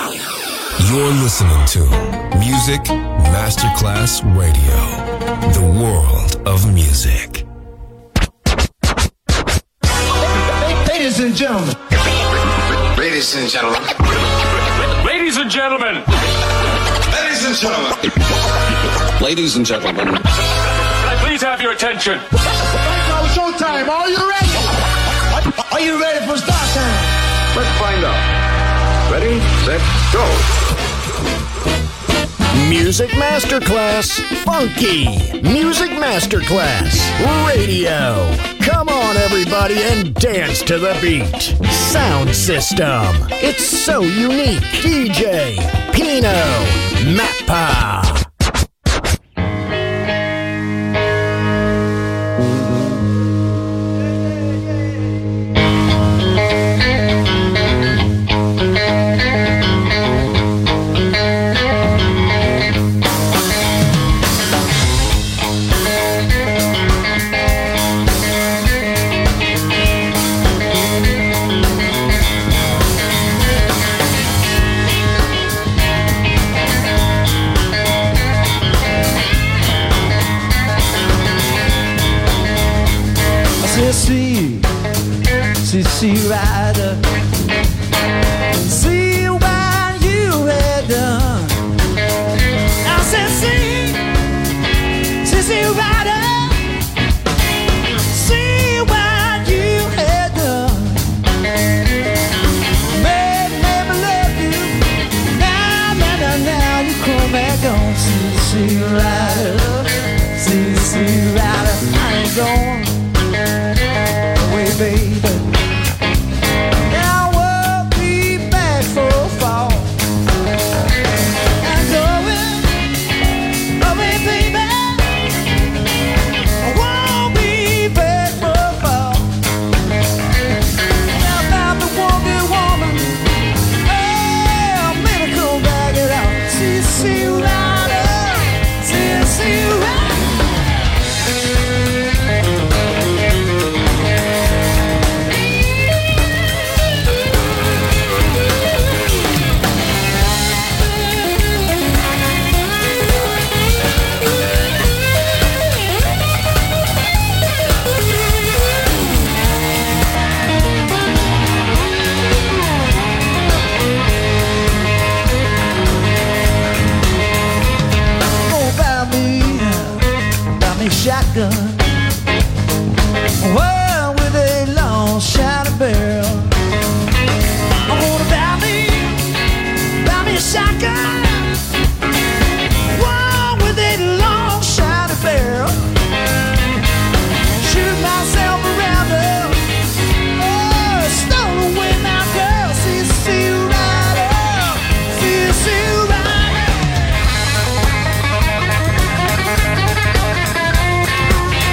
You're listening to Music Masterclass Radio, the world of music. Ladies and gentlemen. Ladies and gentlemen. Ladies and gentlemen. Ladies and gentlemen. Ladies and gentlemen. Can I please have your attention? Now it's showtime. Are you ready? Are you ready for start time? Let's find out. Ready, set, go. Music Masterclass Funky. Music Masterclass Radio. Come on, everybody, and dance to the beat. Sound system. It's so unique. DJ Pino Mappa. See Rider, see what you had done. I said, see Rider, see what you had done. Made me love you. Now you come back on. See Rider, see Rider, I ain't going away, baby. Shotgun, well, with a long shot of barrel. I'm gonna buy me a shotgun, well, with a long shot of barrel. Shoot myself around her, oh, stole away my girl. See Rider, see Rider.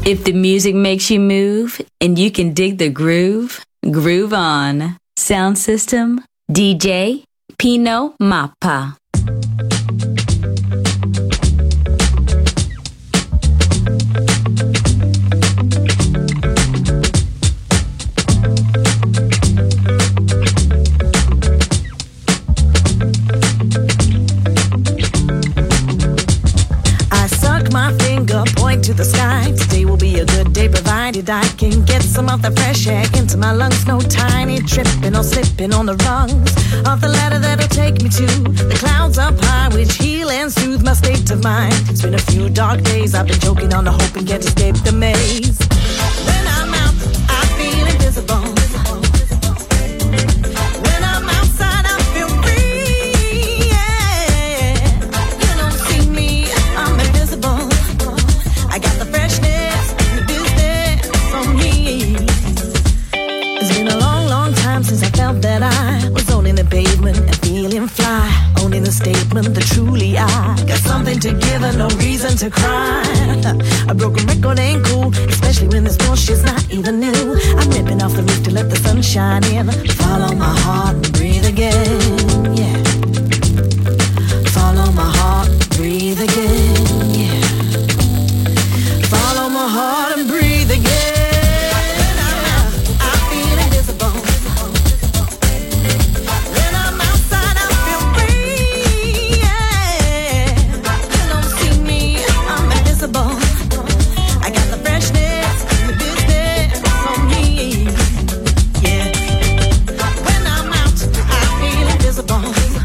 If the music makes you move and you can dig the groove, groove on. Sound system, DJ Pino Mappa. To the sky. Today will be a good day provided I can get some of the fresh air into my lungs. No tiny tripping or slipping on the rungs of the ladder that'll take me to the clouds up high, which heal and soothe my state of mind. It's been a few dark days, I've been choking on the hope and can't escape the maze. When I'm out, I feel invisible. When I'm outside, I feel free. Yeah. You don't see me, I'm invisible. I got the freshness, the business from me. It's been a long, long time since I felt that I was owning the pavement and feeling fly. Owning the statement that truly I got something to give and no reason to cry. A broken record ain't cool, especially when this bullshit's not even new. I'm nipping off the roof to let the sun shine in. Follow my heart and breathe again, yeah. Follow my heart and breathe again, yeah. Follow my heart and breathe again. When I'm out, I feel invisible. When I'm outside, I feel free. Yeah. You don't see me, I'm invisible. I got the freshness, the business on me. Yeah. When I'm out, I feel invisible.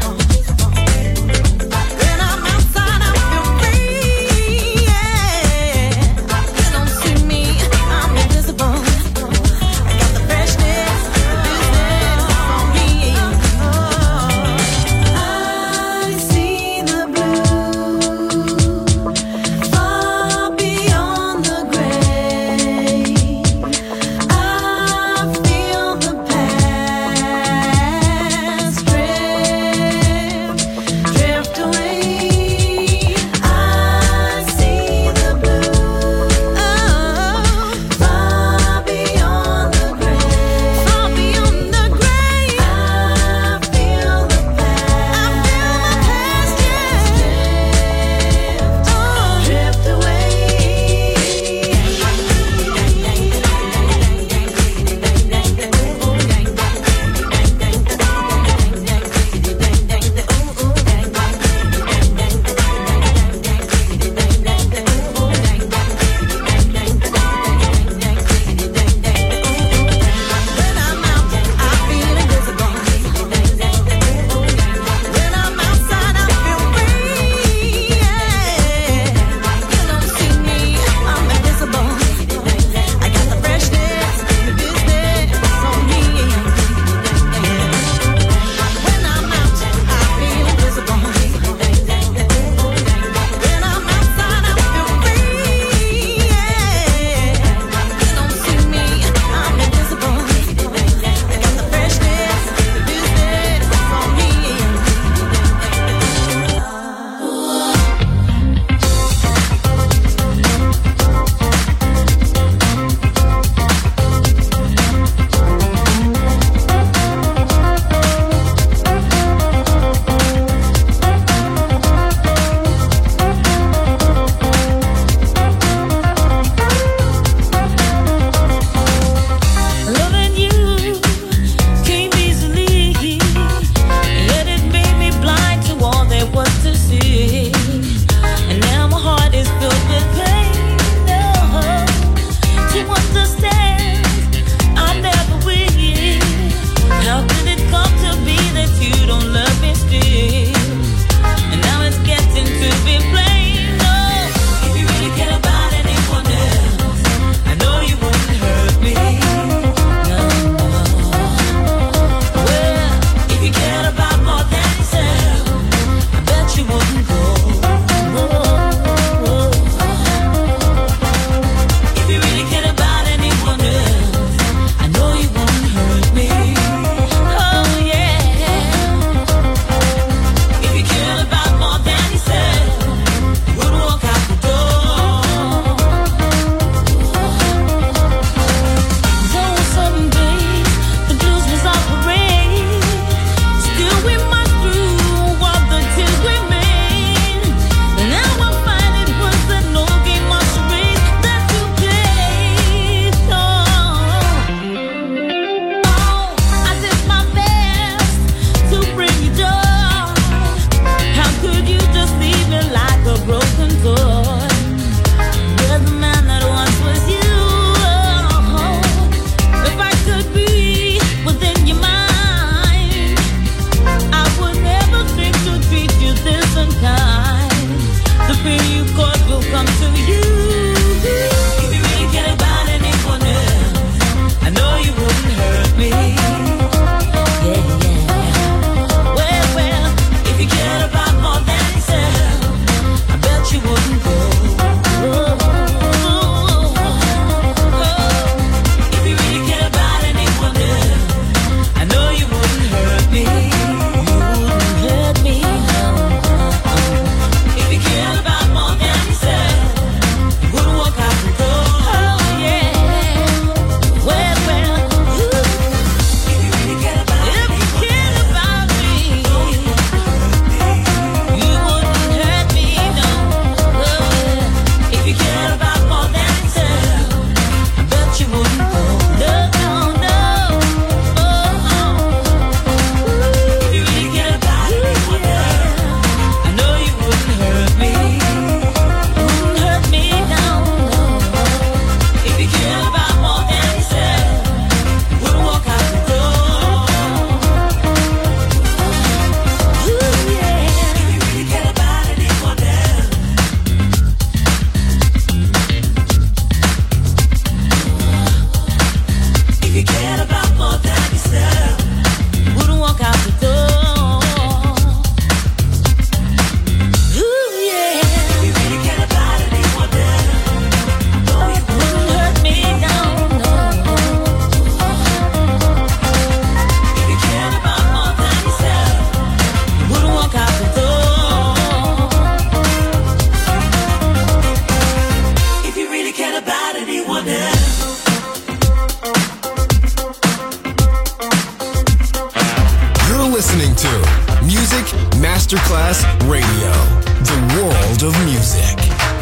Masterclass Radio, the world of music.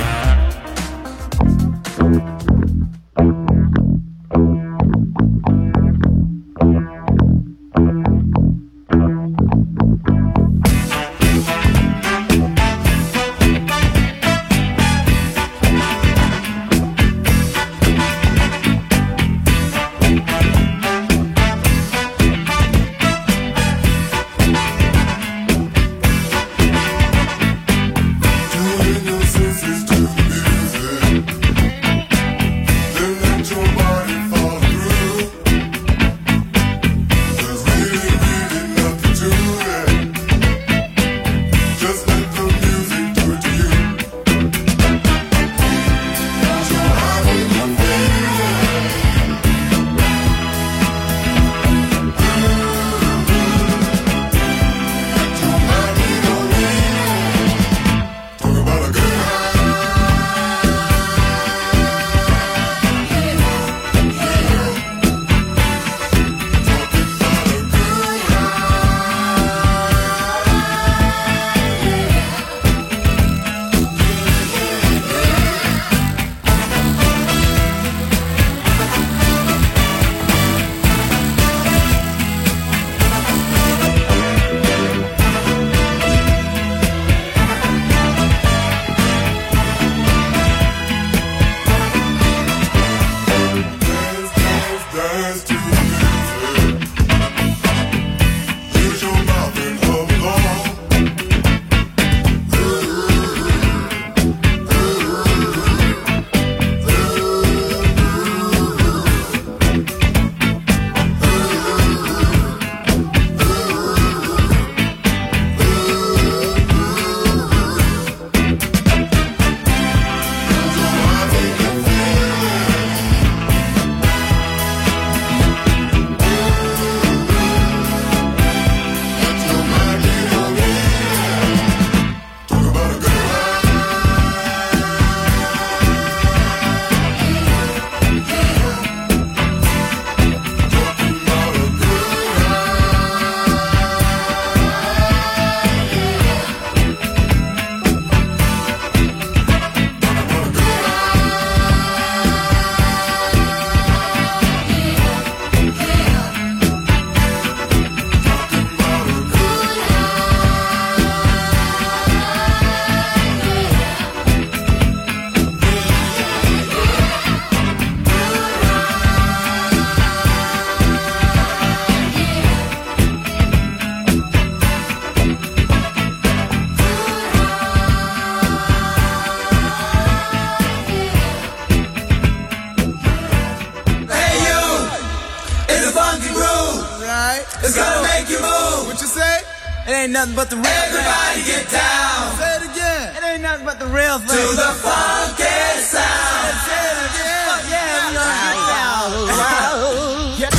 Nothing but the real Everybody thing. Get down. Say it again. It ain't nothing but the real thing. To the funky sound. Say it again. Yeah, we're gonna get down. Yeah.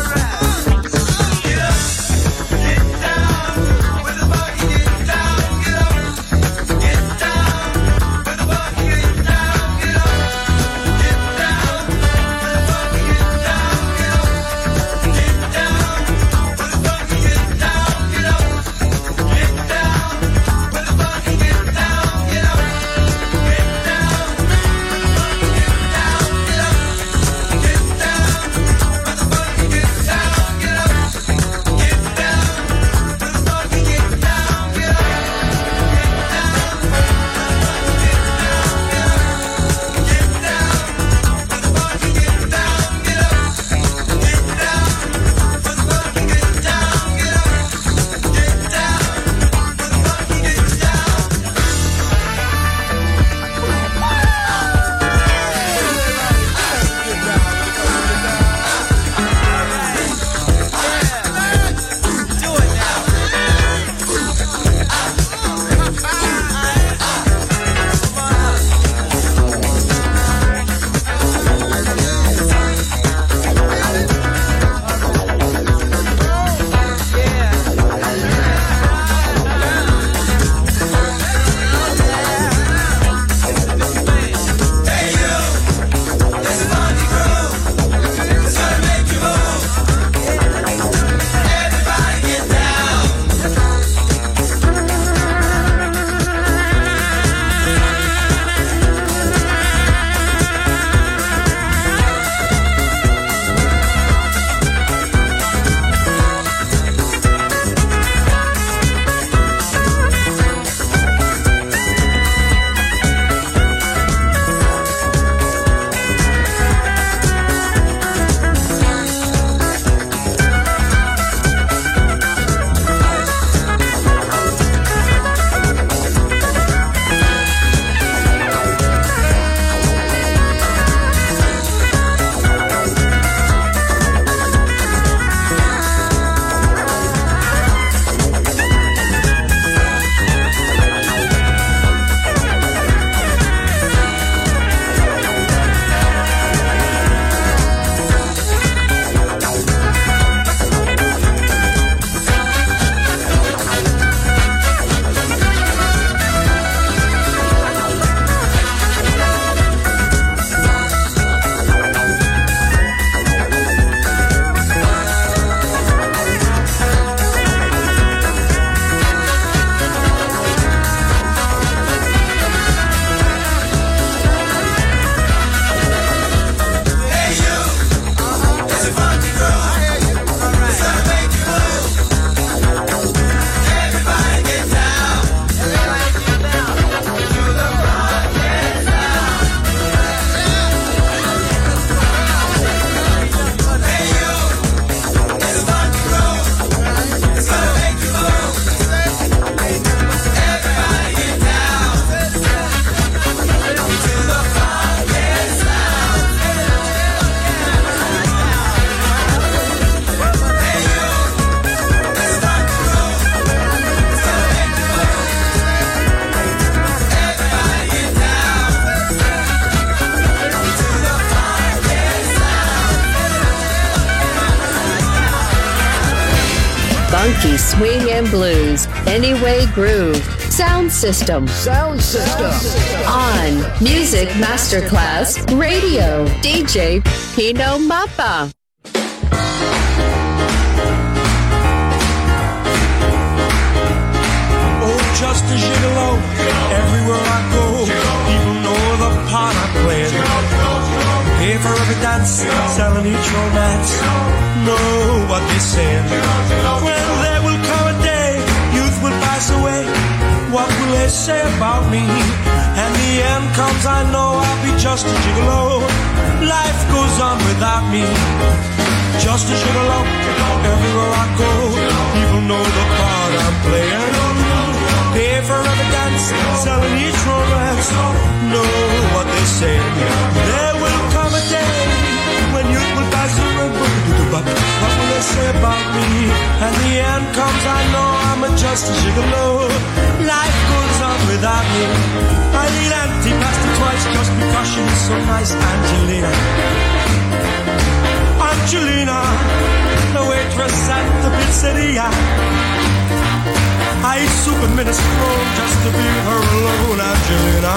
Get down with the buggy, get down. funky swing and blues. Anyway Groove. Sound System. Sound System. On Music Masterclass Radio. DJ Pino Mappa. Oh, just a gigolo. Everywhere I go, people know the part I play. Pay for every dance, selling each romance. Know what they say. When there will come a day, youth will pass away. What will they say about me? And the end comes, I know I'll be just a gigolo. Life goes on without me. Just a gigolo. Everywhere I go, people know the part I'm playing. Pay for every dance, selling each romance. Know what they say. There will come a day when youth will pass away. What will they say about me? And the end comes, I know I'm just a gigolo. Life goes on without me. I need Auntie past it twice just because she's so nice. Angelina, Angelina, the waitress at the pizzeria. I eat soup and minestrone just to be her alone. Angelina,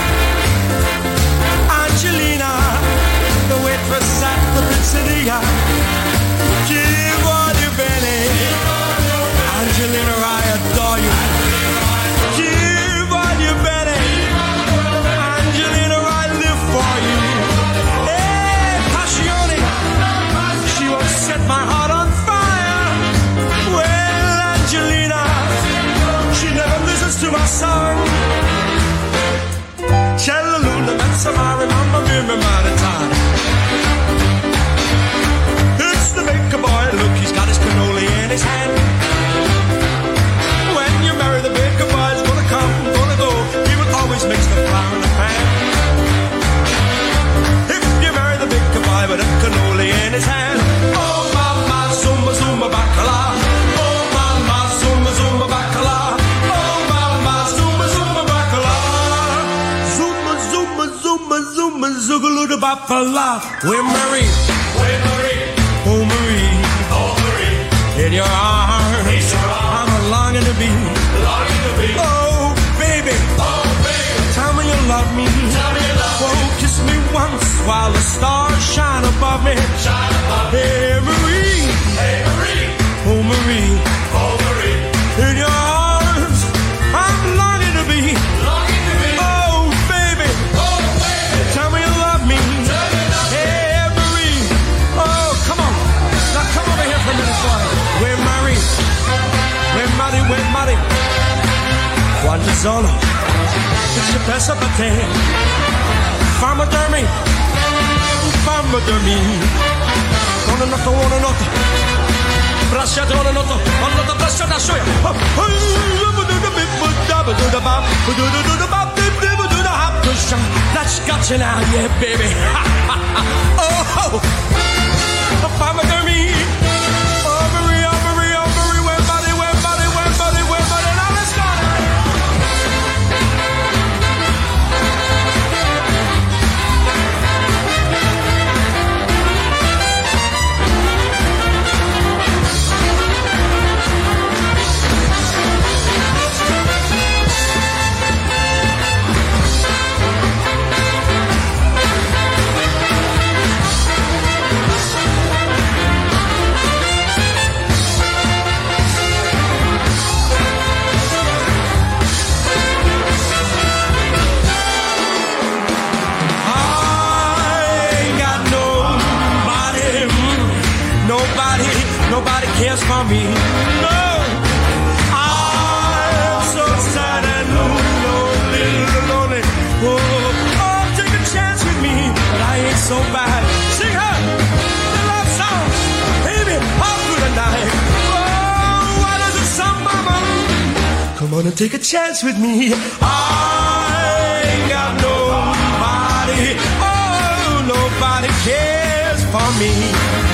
Angelina, the waitress at the pizzeria. Chi voglio bene, Angelina, I adore you. Chi voglio bene, Angelina, I live for you. Hey, passione, she won't set my heart on fire. Well, Angelina, she never listens to my song. C'è la luna, mezza mare, mamma mia, mi maritare. It's the baker boy, look, he's got his cannoli in his hand. When you marry the baker boy, he's gonna come, gonna go. He will always mix the flour in the pan. If you marry the baker boy with a cannoli in his hand. Oh, mama, zumba, zumba, bacala. Oh, mama, zumba, zumba, bacala. Oh, mama, zumba, zumba, bacala. Zumba, zumba, zumba, zumba, zoogaloo, the bacala. We're married. We're married. Oh Marie, oh Marie, in your arms, I'm longing to be, oh baby, tell me you love me, oh kiss me once while the stars shine above me, hey Marie, oh Marie, in your arms, I'm longing to be, oh baby, tell me you love me, hey Marie, oh come on. Come over here for a minute, boy. We're married. We're married, we're married. Quando solo ci pensa per te. Fammi dormire. Fammi dormire. Buonanotte, buonanotte. Bracciate, buonanotte. Buonanotte, bracciate, ascioia. That's got you now, yeah, baby. Oh, Fammi dormire. Nobody cares for me. No, I'm so sad and lonely. Oh, take a chance with me, but I ain't so bad. Sing her the love song, baby, all through the night. Oh, why does it sound, mama? Come on and take a chance with me. I ain't got nobody. Oh, nobody cares for me.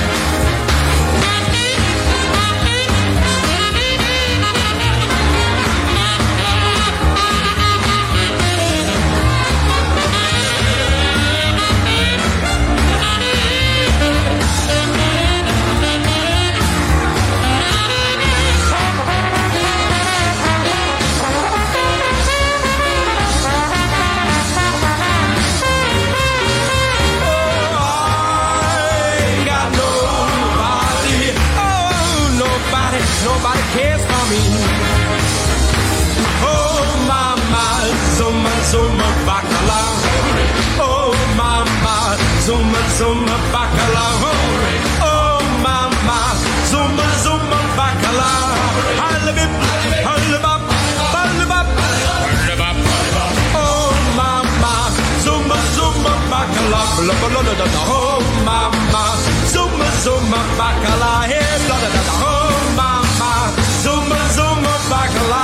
Oh mama, zumba zumba bacala. Halibip, halibap, halibap, halibap. Oh mama, zumba zumba bacala. Oh mama, zumba zumba bacala. Hey, oh mama, zumba zumba bacala.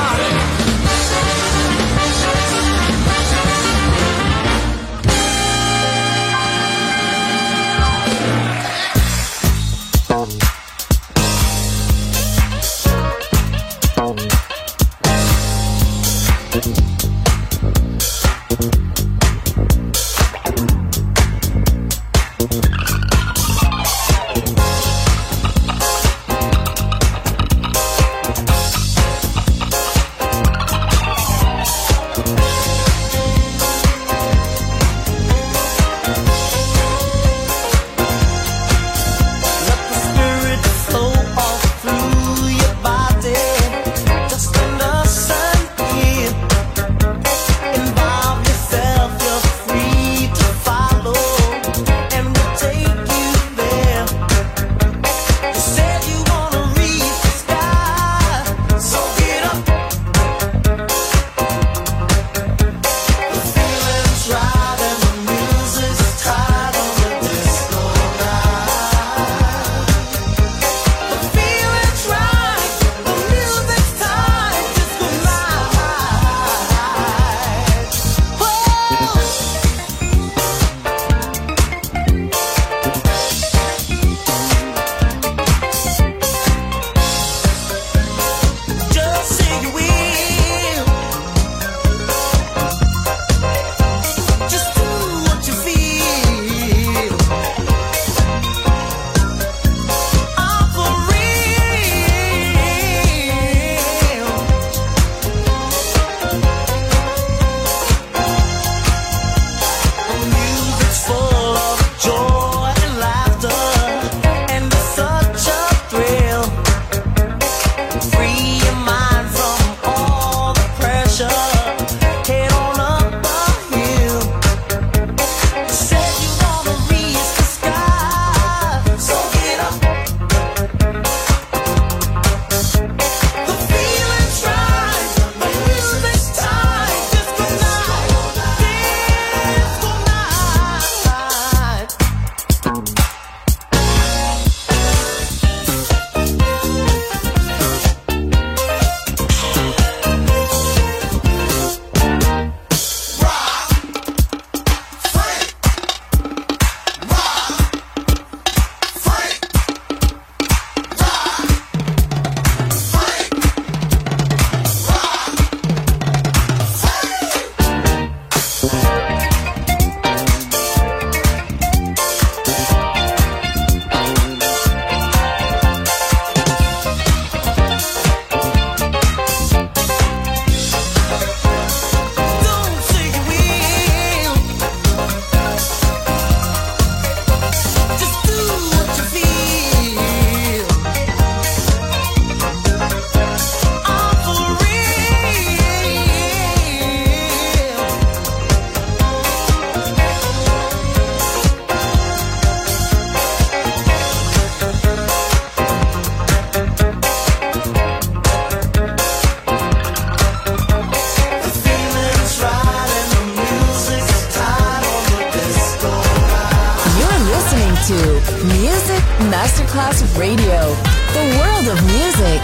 Masterclass Radio, the world of music.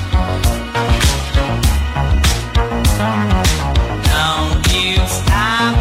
Don't you stop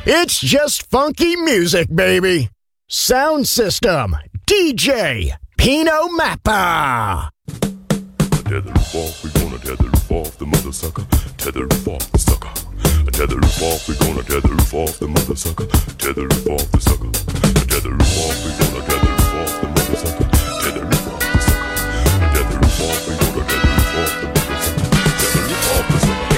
It's just funky music, baby. Sound system, DJ Pino Mappa. Tether the roof off, we gonna tether the roof off the mother sucker. Tether the roof off the sucker. Tether the roof off, we gonna tether the roof off the mother sucker. Tether the roof off the sucker. Tether the roof off, we gonna tether the roof off the mother sucker. Tether the roof off the sucker. Tether the roof off, we gonna tether the roof off the mother sucker. Tether the roof off the sucker.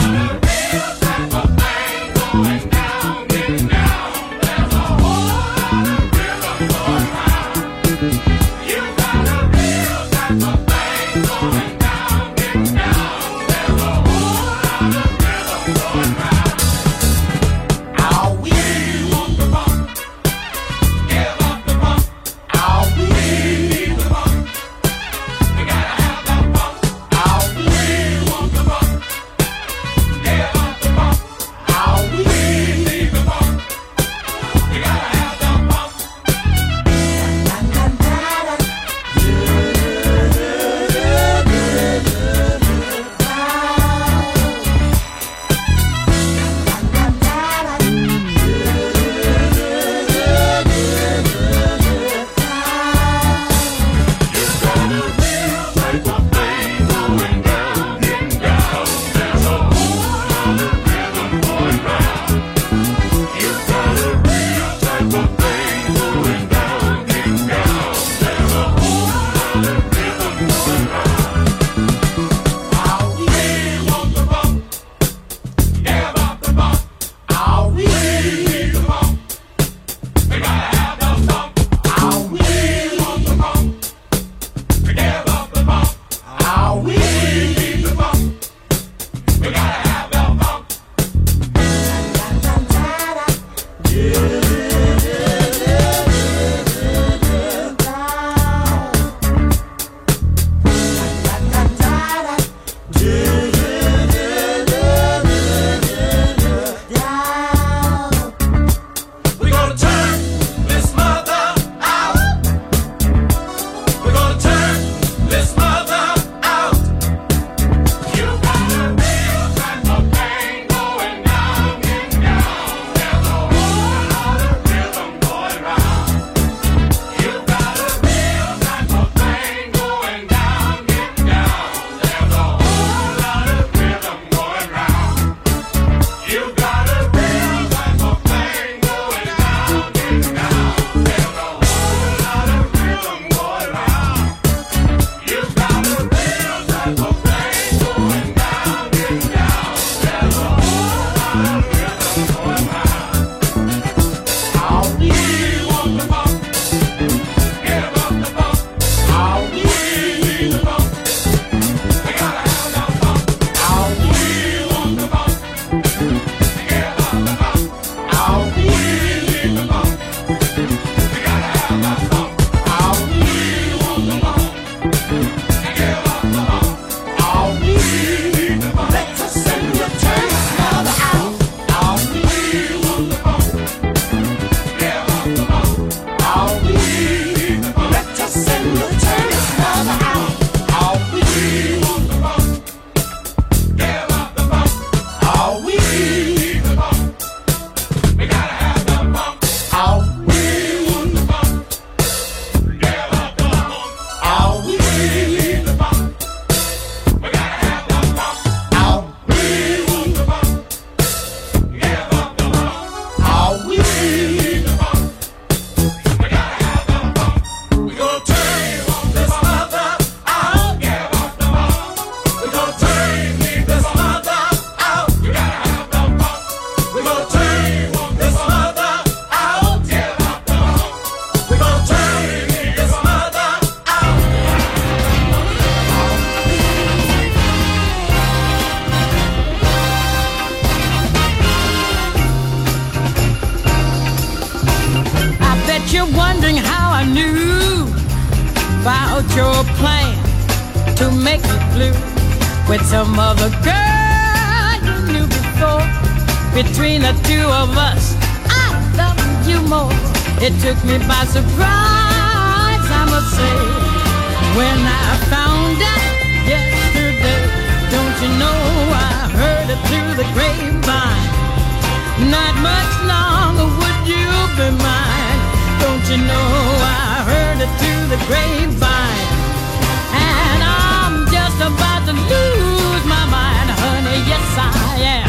about your plan to make me blue with some other girl you knew before. Between the two of us, I love you more. It took me by surprise, I must say, when I found out yesterday. Don't you know I heard it through the grapevine? Not much longer would you be mine. Don't you know I heard it through the grapevine, and I'm just about to lose my mind, honey. Yes, I am.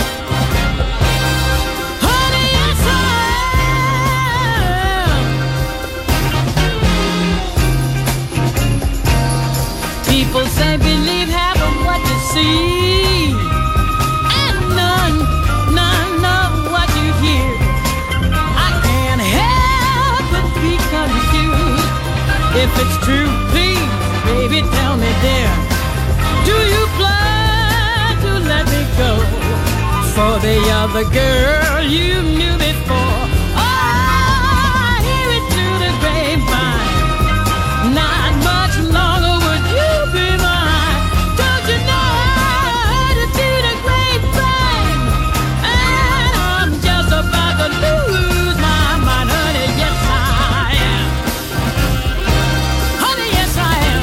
Honey, yes, I am. People say believe half of what you see, and none of what you hear. I can't help but be confused. If it's true, please, baby, tell me, dear, do you plan to let me go for the other girl you knew before? Oh, I hear it through the grapevine. Not much longer would you be mine. Don't you know I heard it through the grapevine, and I'm just about to lose my mind, honey. Yes, I am. Honey, yes, I am.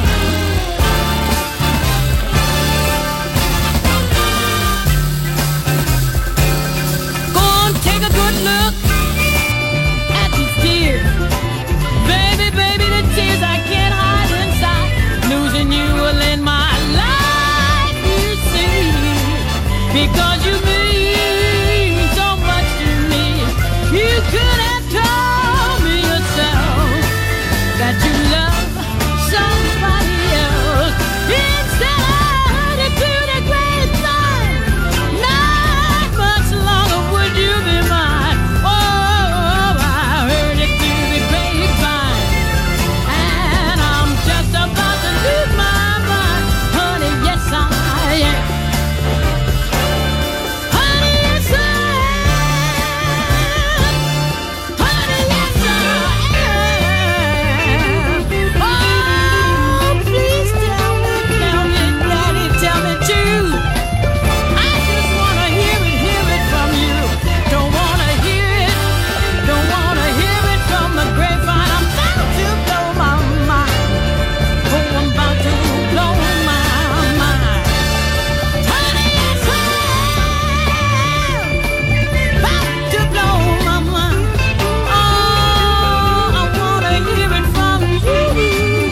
Go on, take a good look at these tears. Baby, baby, the tears I can't hide inside. Losing you will end my life, you see, because you mean so much to me. You could have told me yourself that you love somebody else. Instead, I heard it through the grapevine. Not much longer would you be mine. Oh, I heard it through the grapevine, and I'm just about to lose my mind, honey. Yes, I am. Honey, yes, I am. Honey, yes, I am. Oh, please tell me, daddy, tell me too. I just wanna hear it from you. Don't wanna hear it from the grapevine. I'm about to blow my mind. Oh, I'm about to blow my mind. Honey, yes, I am. About to blow my mind. Oh, I wanna hear it from you.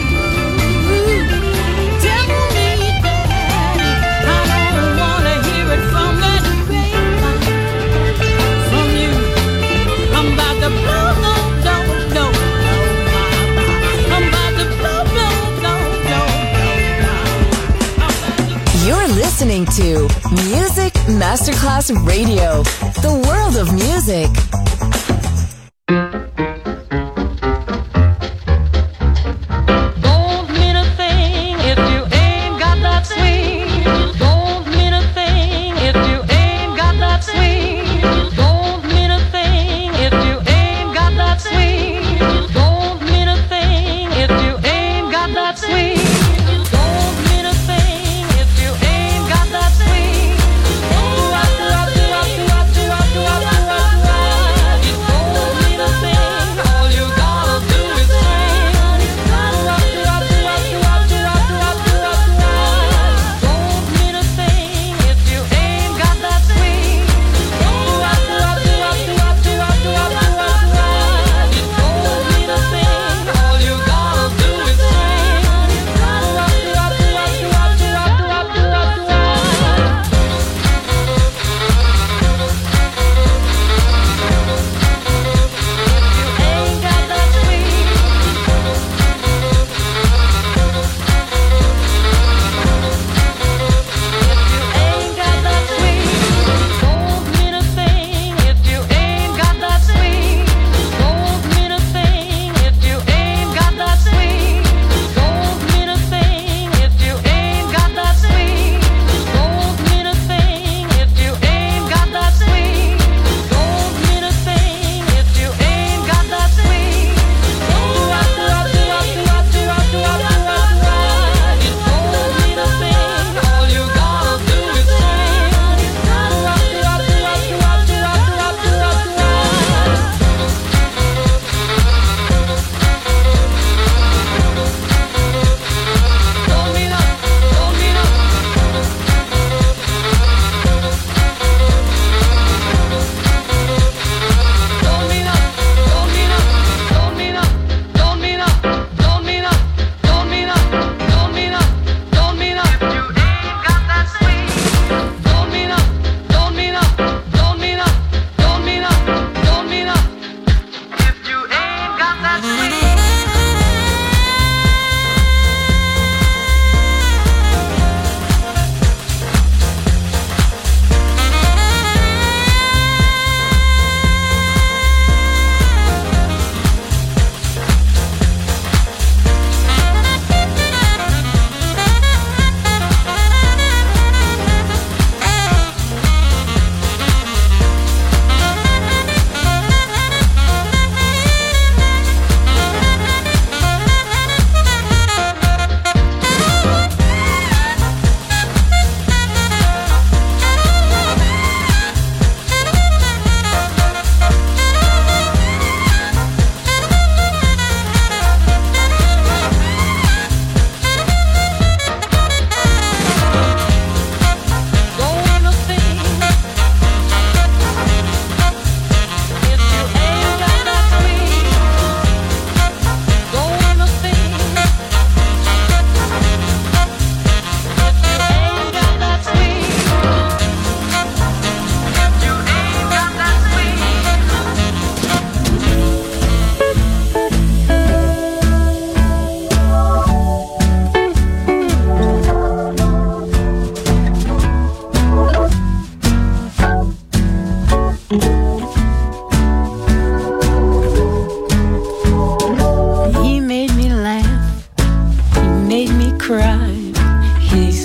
Tell me, daddy, I don't wanna hear it from that grapevine. From you, I'm about to blow, no, no, no, no, I'm about to blow, no, no, no, no. You're listening to Music Masterclass Radio, the world of music. Don't mean a thing if you ain't got that swing. Don't mean a thing if you ain't got that swing. Don't mean a thing if you ain't got that swing. Don't mean a thing if you ain't got that swing. Don't mean a thing if you ain't got that swing.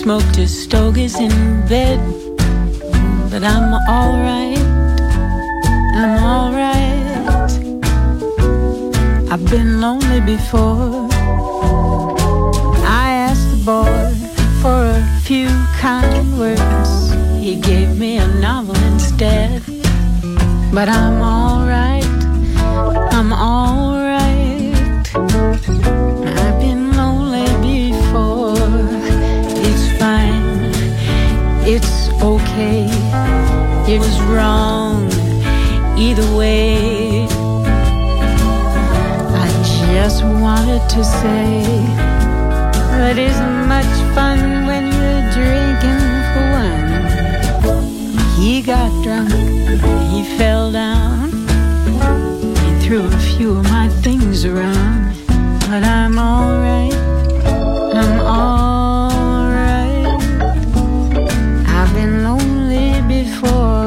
smoked his stogies in bed. But I'm alright, I'm alright. I've been lonely before. I asked the boy for a few kind words. He gave me a novel instead. But I'm alright, I'm alright. I've been lonely before. It's fine, it's okay. It was wrong either way. I just wanted to say that isn't much fun when you're drinking for one. He got drunk, he fell down, he threw a few of my things around. But I'm alright, I'm alright. I've been lonely before.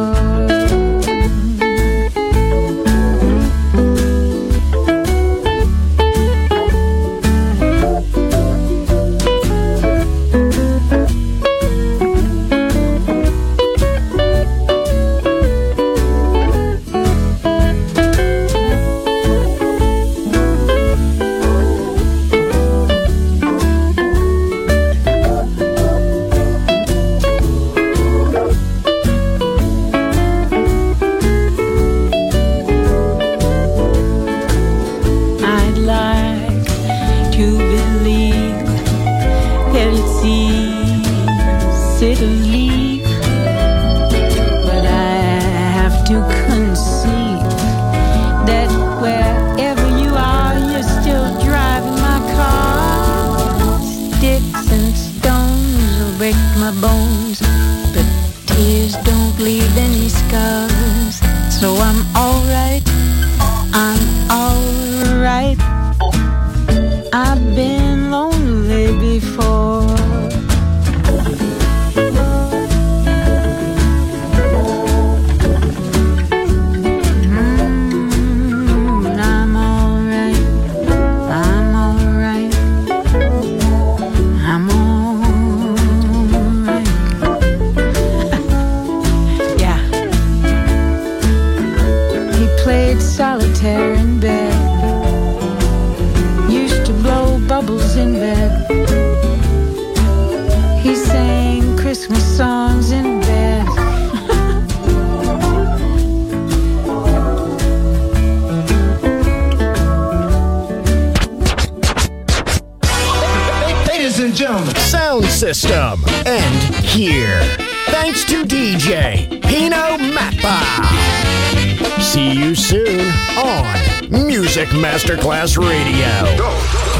Sound System. End here. Thanks to DJ Pino Mappa. See you soon on Music Masterclass Radio. Go.